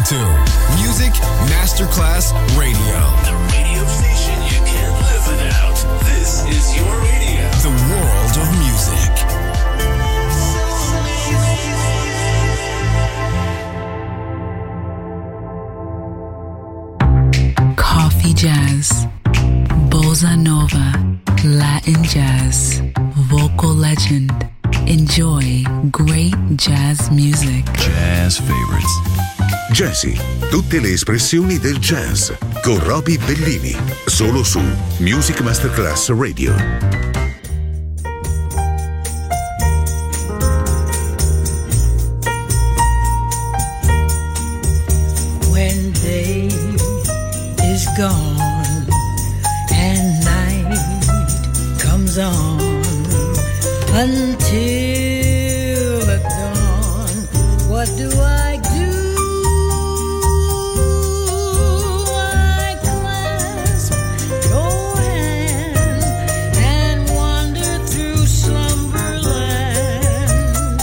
to Music Masterclass Radio. The radio station you can't live without. This is your radio. The world of music. Coffee jazz, bossa nova, Latin jazz, vocal legend. Enjoy great jazz music. Jazz favorites. Jazzy, tutte le espressioni del jazz con Roby Bellini, solo su Music Masterclass Radio. When day is gone and night comes on until the dawn, what do I do? I clasp your hand and wander through slumberland,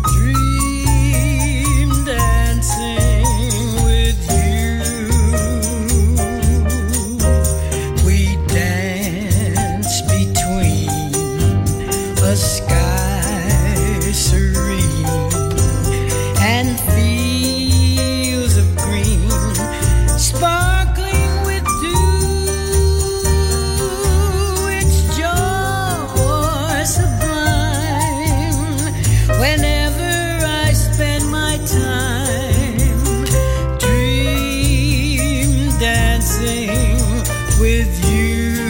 dream dancing with you. We dance between a sky serene and fields of green sparkling with dew. It's joy sublime whenever I spend my time dream dancing with you.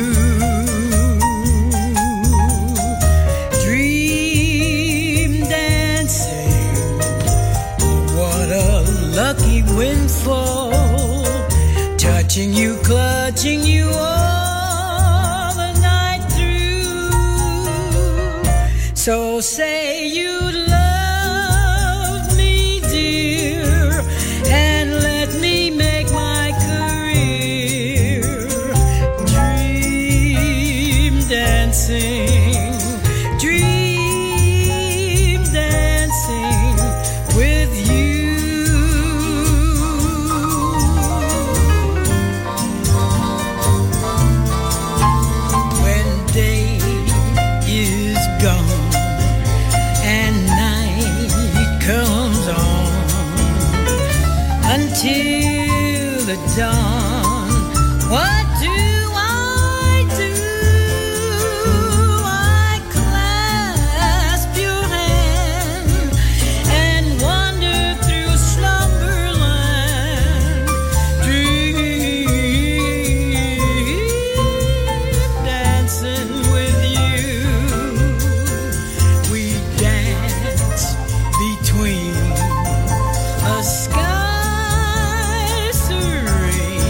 Lucky windfall, touching you, clutching you all the night through. So say you love me, dear, and let me make my career dream dancing, dream dancing with you. Until the dawn, what do I do? I clasp your hand and wander through slumberland, dream dancing with you. We dance between a sky serene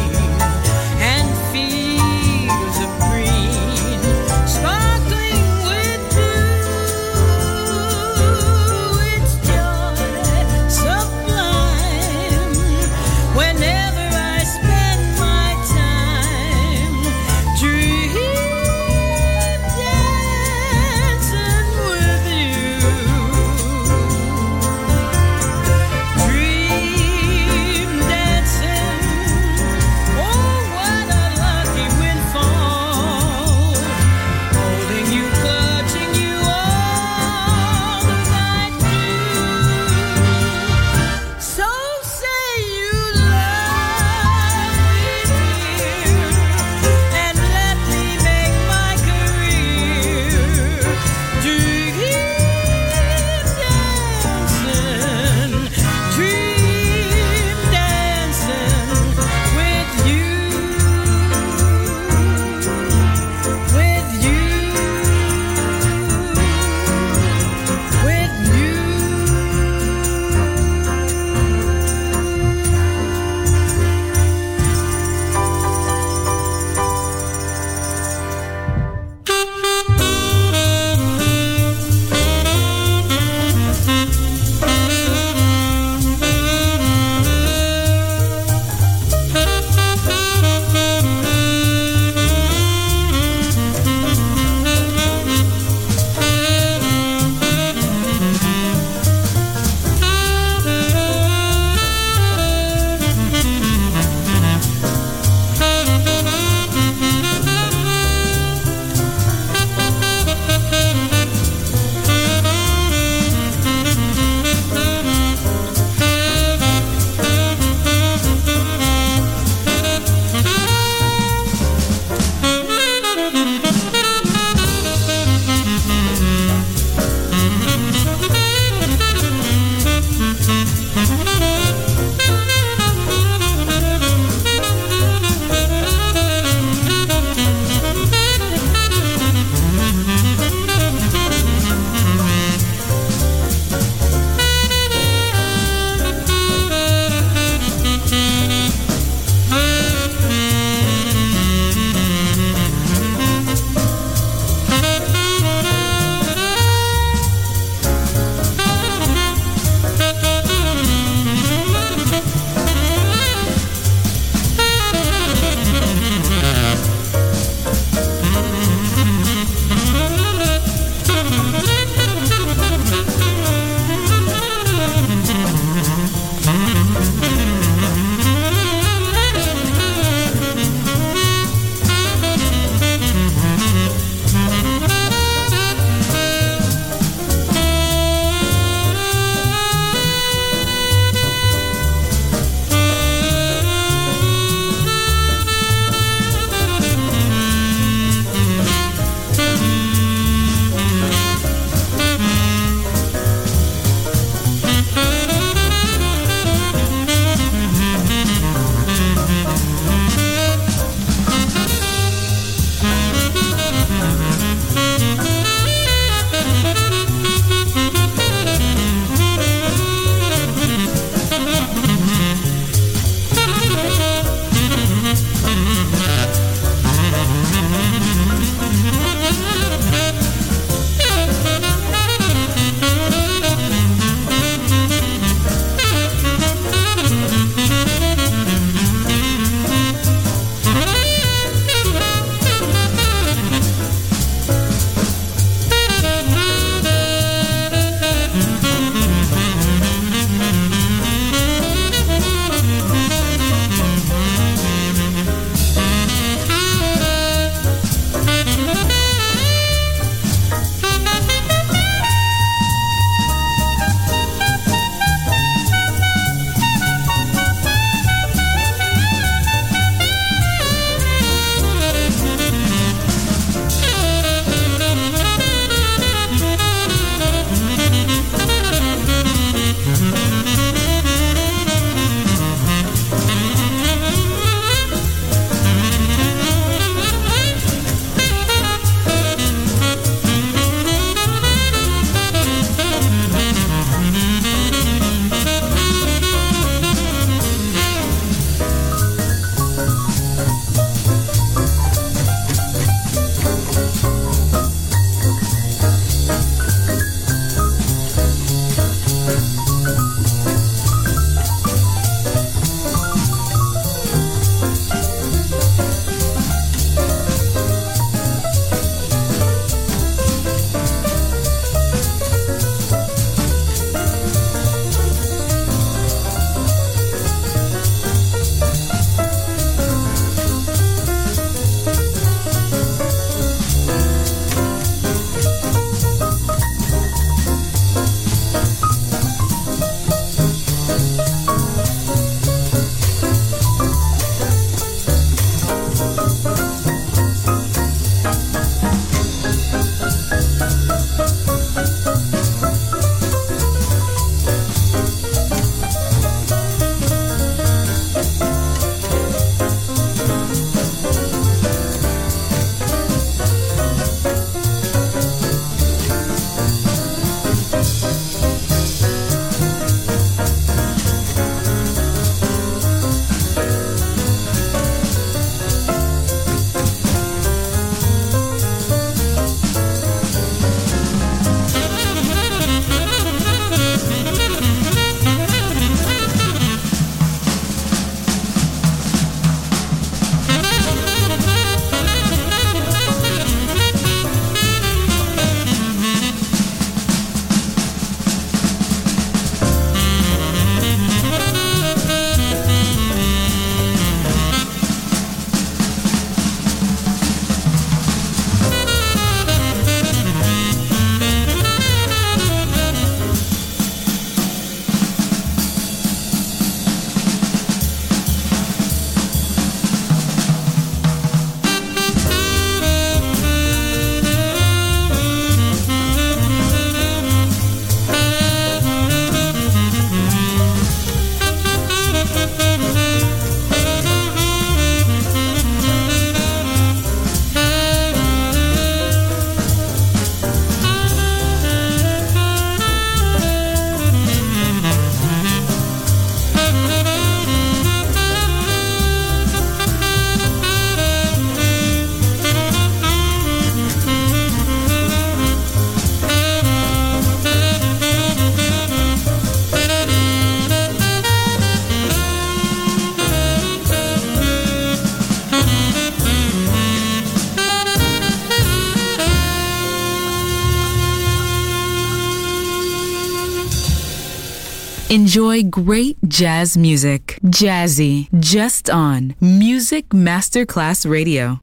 Enjoy great jazz music. Jazzy, just on Music Masterclass Radio.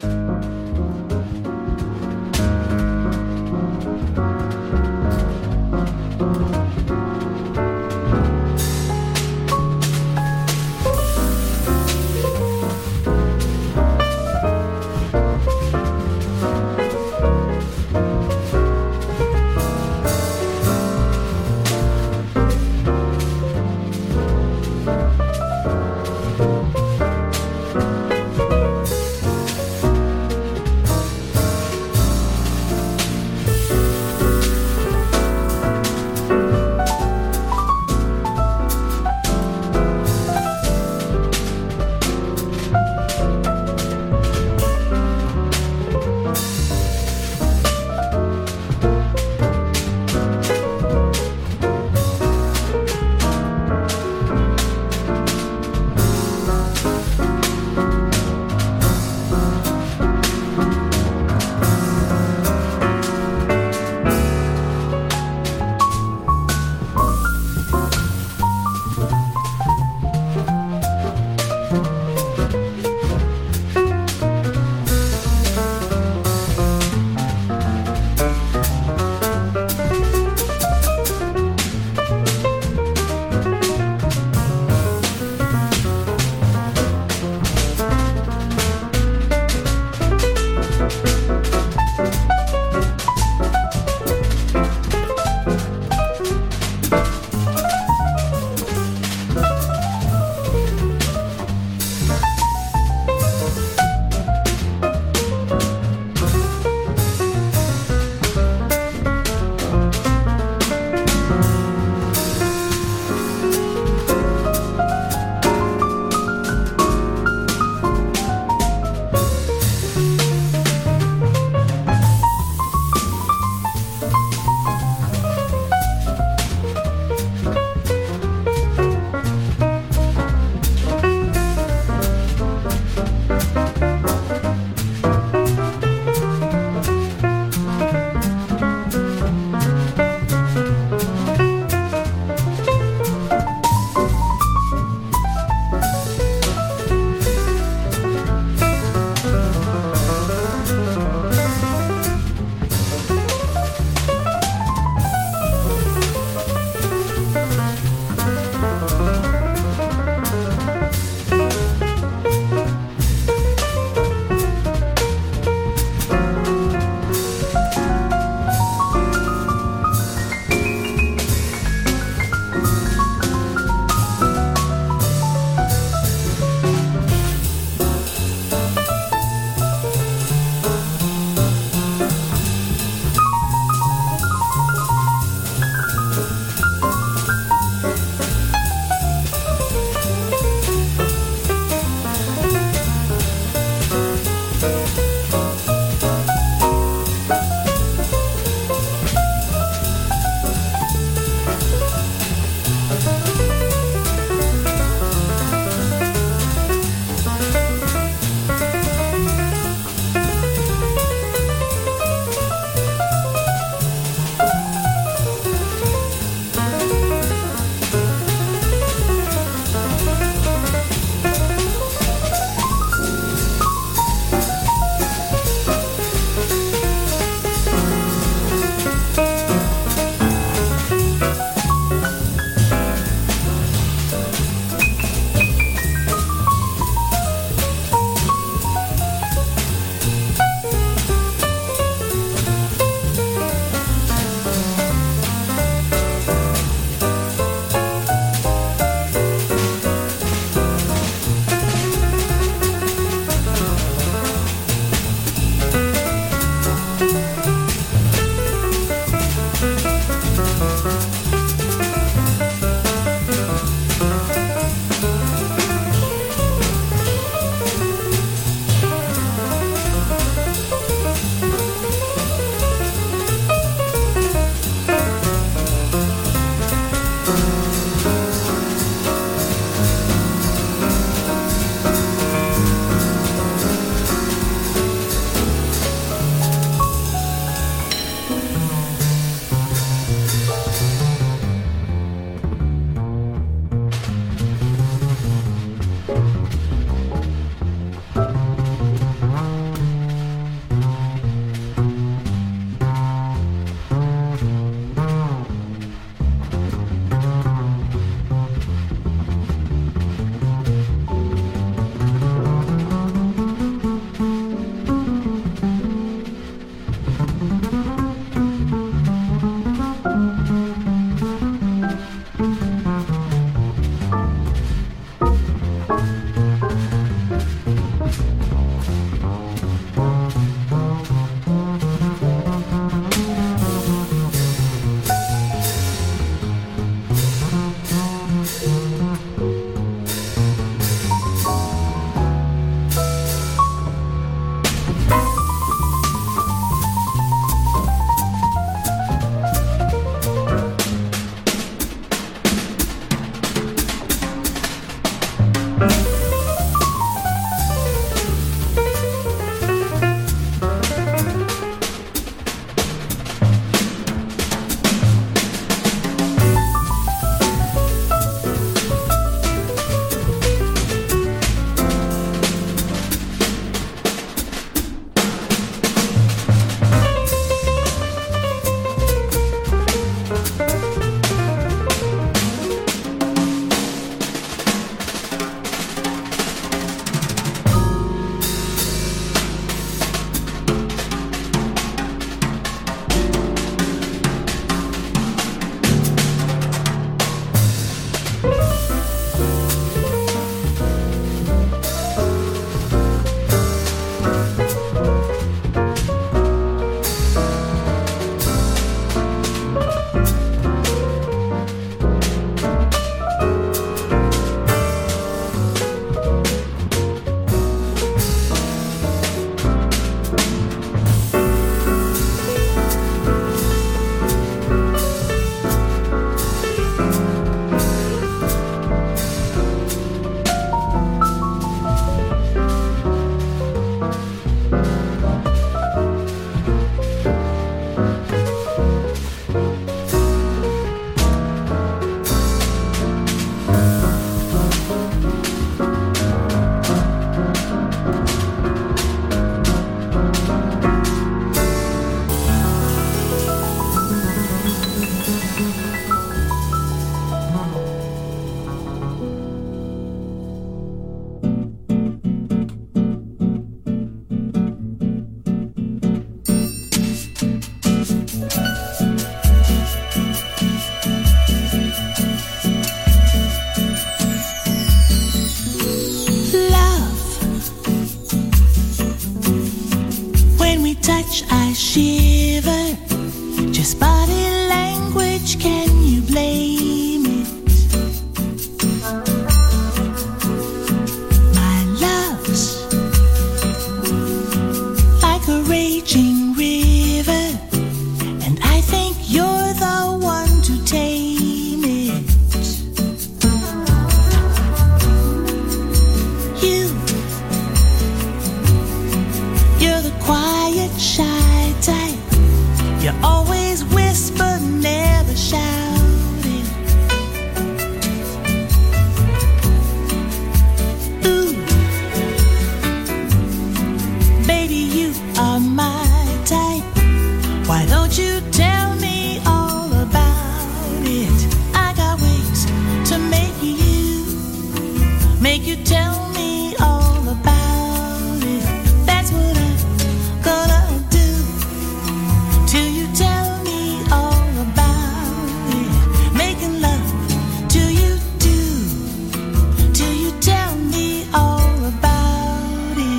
tell me all about it? That's what I'm gonna do. Till you tell me all about it. Making love till you do. Till you tell me all about it.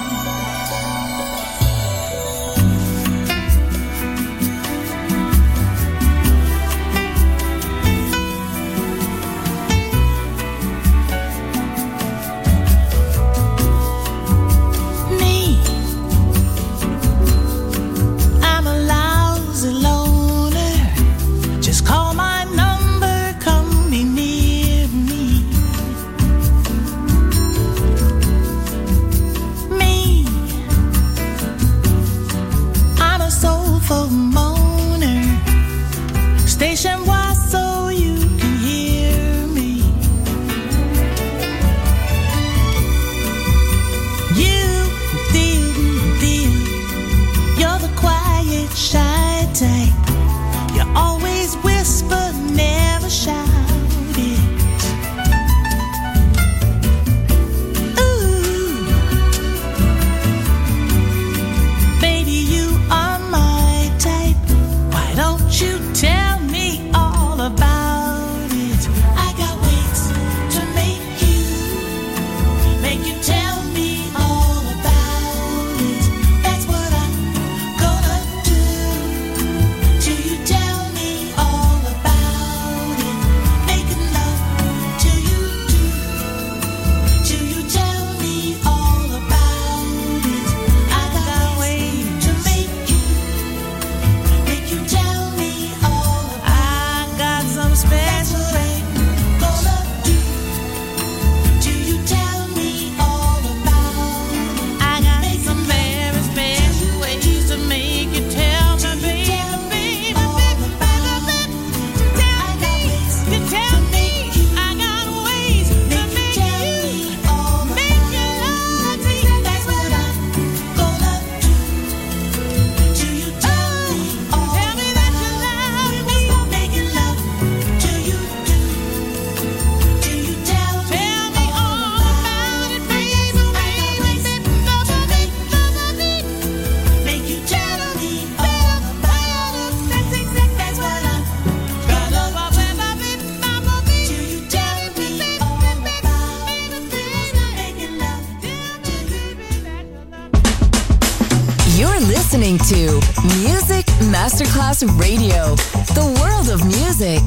Me, I'm a lousy loner. Just call my number, come be near me. Me, I'm a soulful moaner. Station wide so you can hear me. You, dear, you're the quiet, shy type. You always whisper, never shout it. Ooh, baby, you are my type. Why don't you tell me all about it? I got ways to make you tell me all about it. That's what I'm gonna do. Till you tell me all about it. Making love till you do. Till you tell me all about it. I got ways to make you tell me all about it. I got some special things gonna do. Till you tell me all about it. I got some very special ways to make you tell me, baby, baby, baby, baby. Tell me, you tell me. I got ways to make you love me. That's what I'm gonna do. Till you tell me all tell me that you love me. Making love till you do. Till you tell me all about it, baby, baby, make you tell me all about it. That's exactly what I'm gonna do. Till you tell me all about it. Making love till you You're listening to Music Masterclass Radio, the world of music.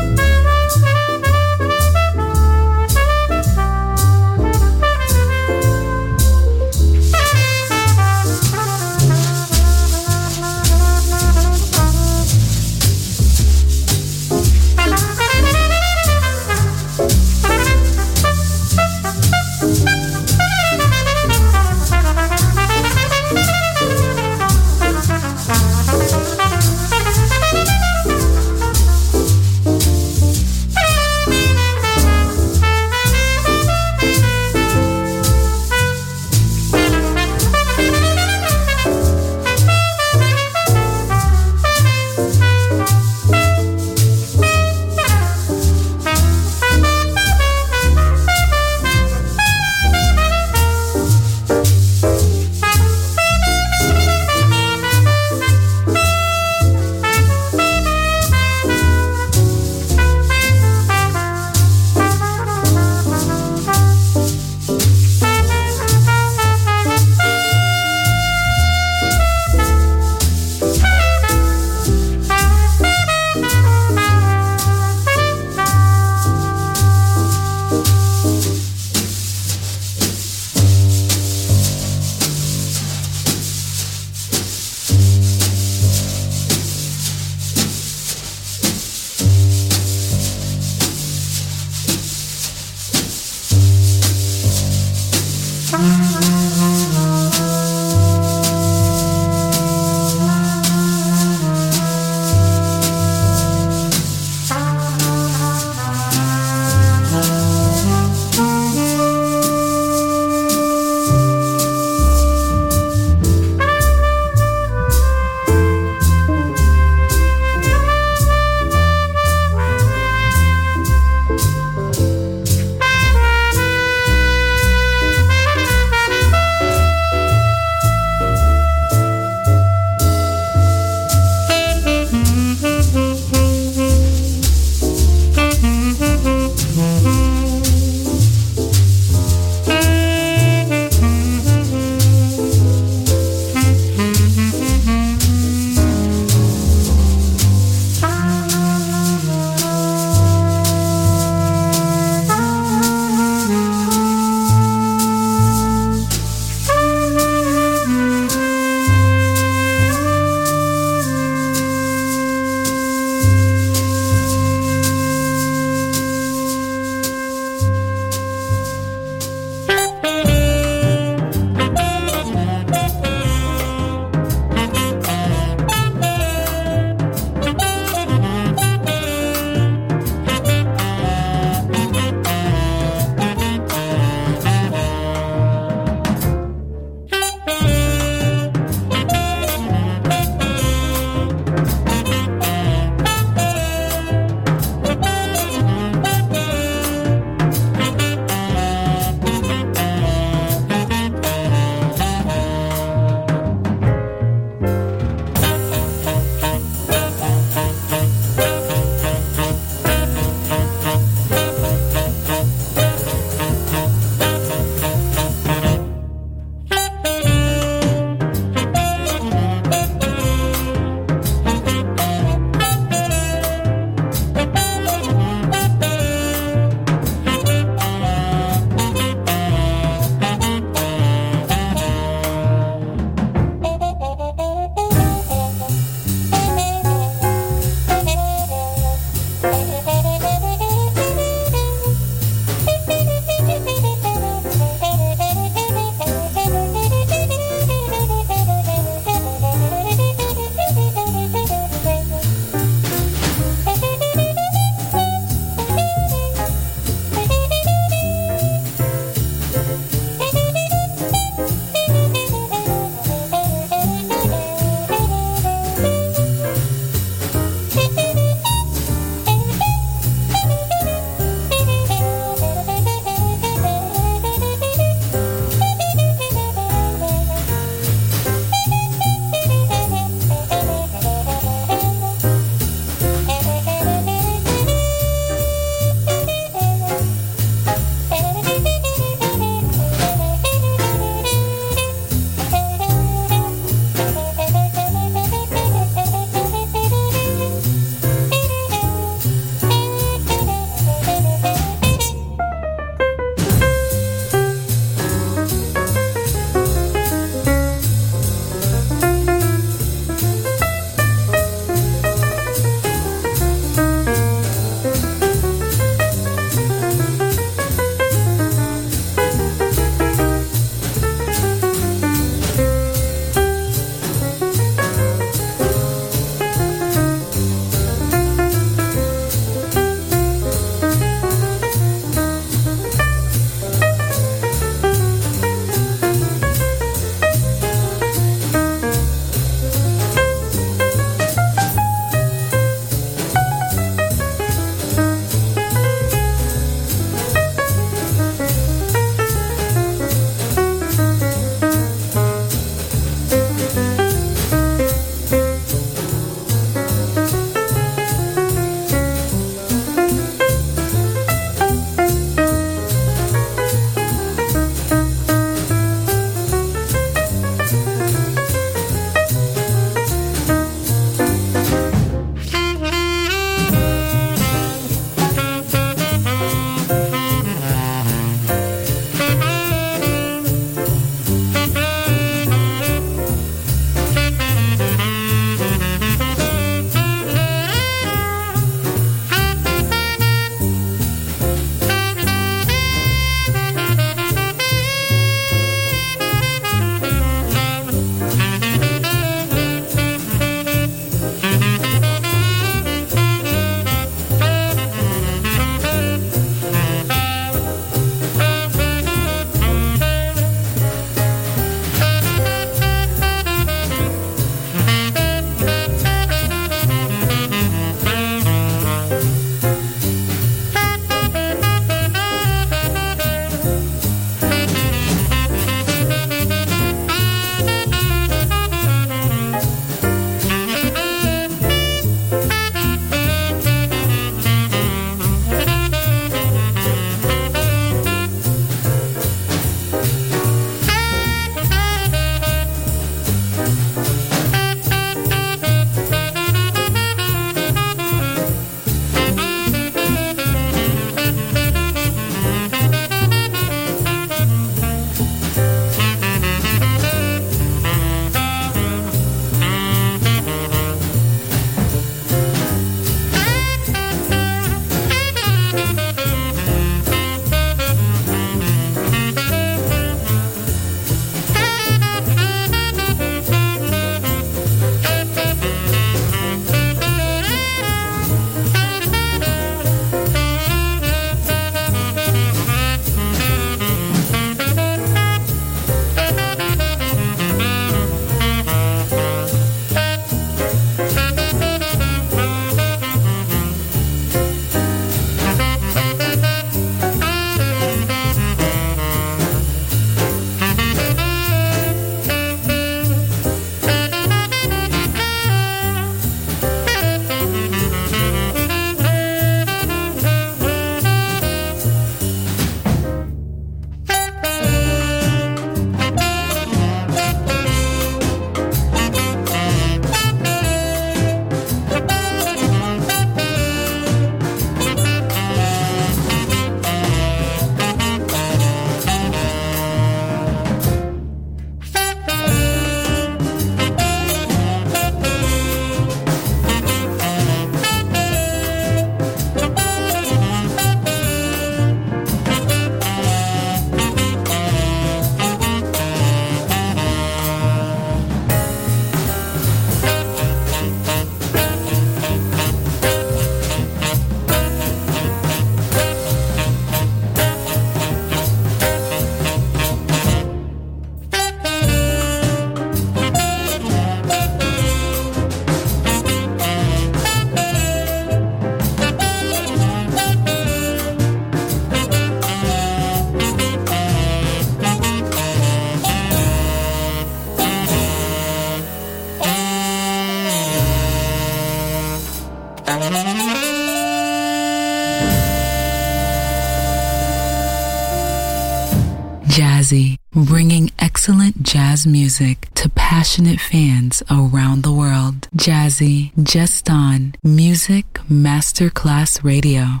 Jazzy, bringing excellent jazz music to passionate fans around the world. Jazzy, just on Music Masterclass Radio.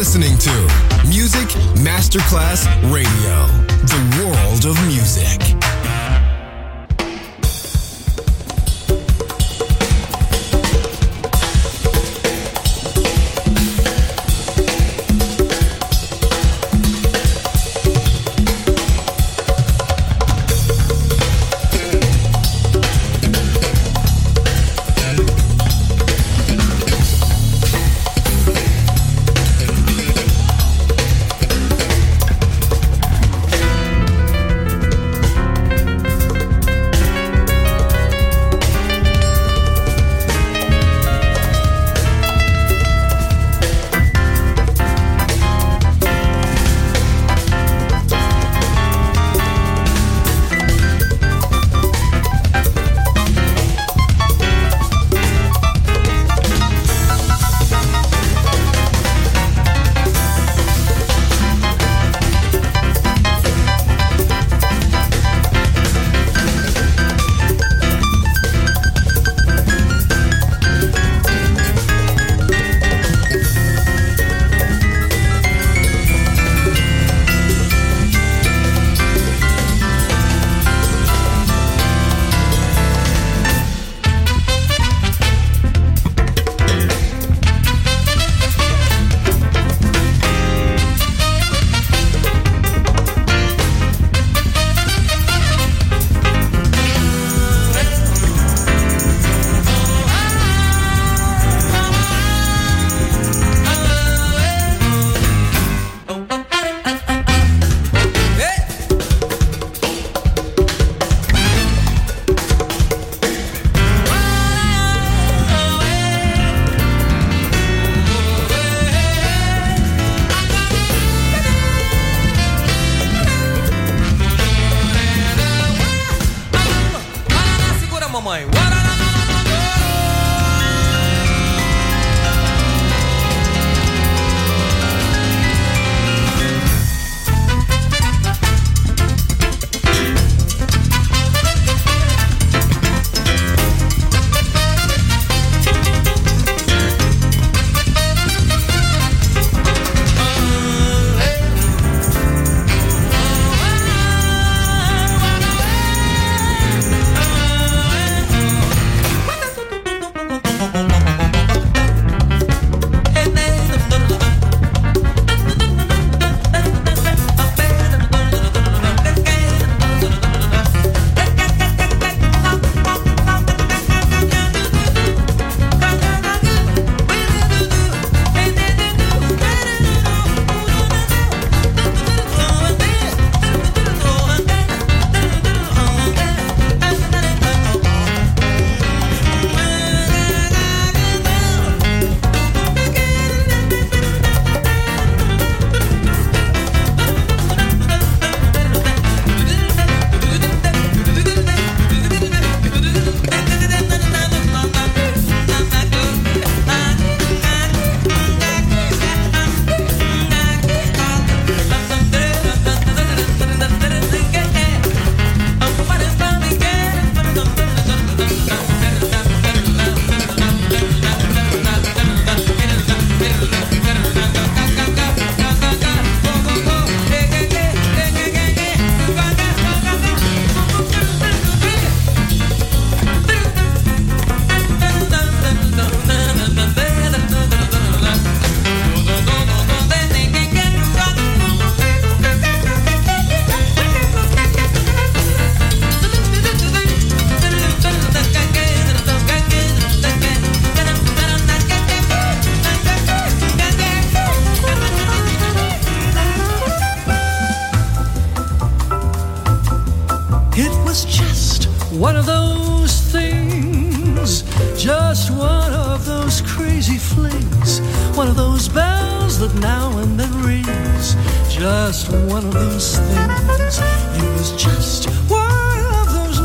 listening to Music Masterclass Radio, the world of music. One of those things, just one of those crazy flings, one of those bells that now and then rings, just one of those things. It was just one of those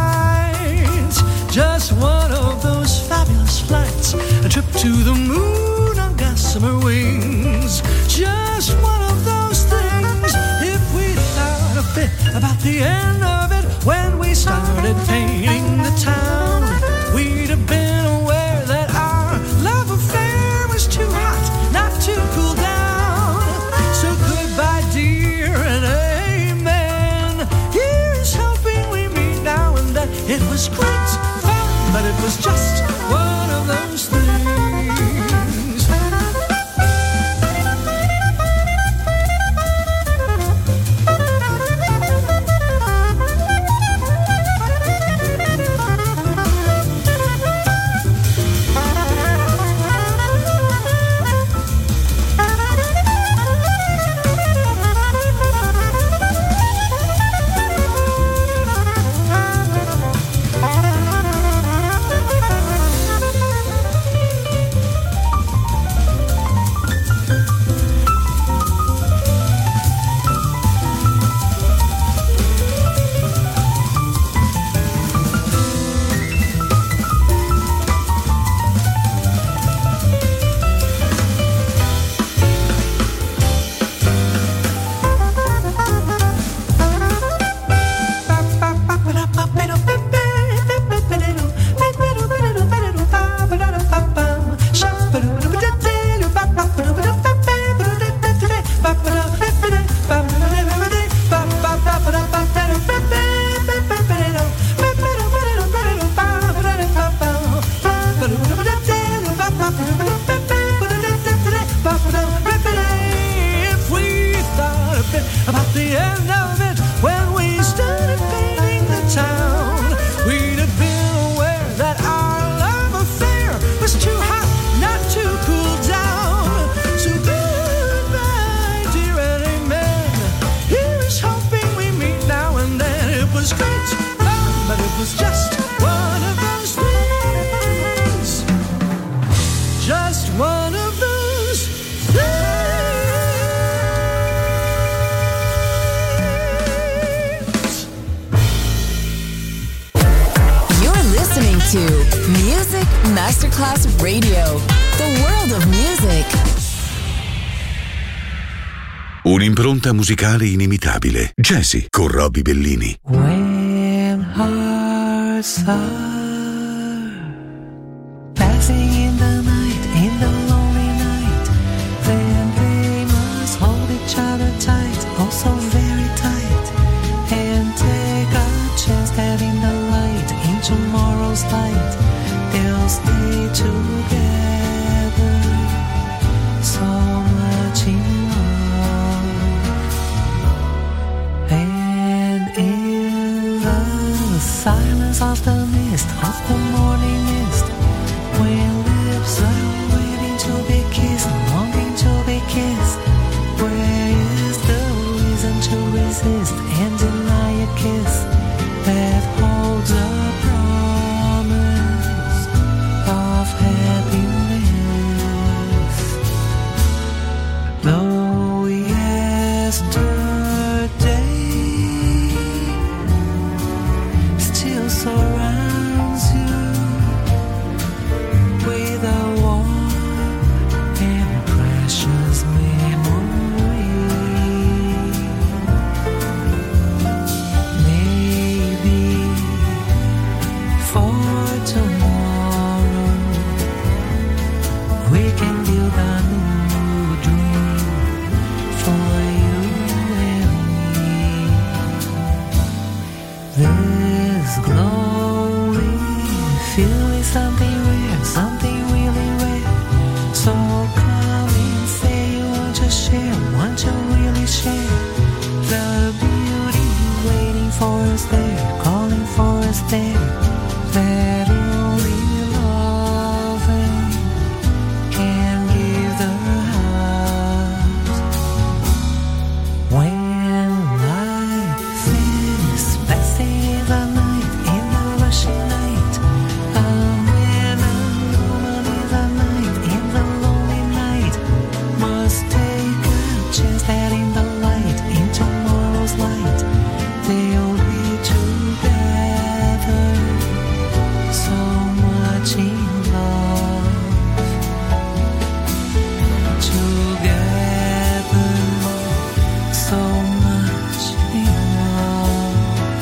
nights, just one of those fabulous flights, a trip to the moon on gossamer wings, just one of those things. If we thought a bit about the end of it when we started painting the town, we'd have been aware that our love affair was too hot not to cool down. It was great fun, but it was just one of those things. Masterclass Radio, the world of music. Un'impronta musicale inimitabile. Jazzy con Roby Bellini. When hearts are passing in the night, in the lonely night, then they must hold each other tight, oh so very tight, and take a chance that in the light, in tomorrow's light, they'll stay together, so much in love. And in the silence of the mist, of the morning mist, when lips are waiting to be kissed, longing to be kissed, where is the reason to resist and deny a kiss that holds a promise of happiness? Though yesterday still surrounds you with a warm and precious memory, maybe for tomorrow we can build a new dream for you and me. This glowing feeling, something rare, something really rare. So come and say you want to share, want to really share the beauty waiting for us there, calling for us there. That only loving can give the heart. When life is passing in the night, in the rushing night, when a woman in the night, in the lonely night, must take a chance that in the light, in tomorrow's light, they'll be together, so much in love, together, so much in love.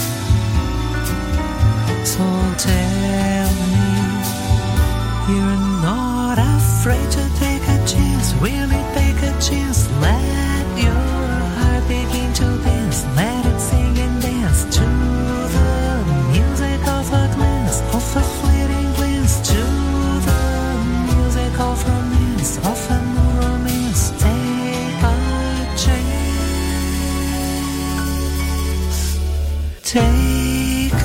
So tell me you're not afraid to take a chance, really take a chance. Let your heart begin to dance, let it sing and dance to the music of a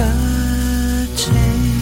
a chance.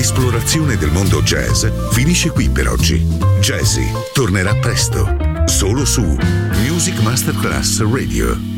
esplorazione del mondo jazz finisce qui per oggi. Jazzy tornerà presto, solo su Music Masterclass Radio.